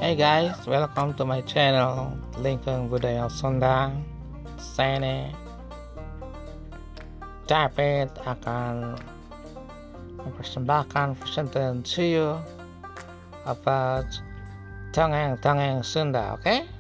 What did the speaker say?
Hey guys, welcome to my channel Lincoln Budaya Sunda. Saya David akan mempersembahkan presenter to you about dongeng-dongeng Sunda, okay?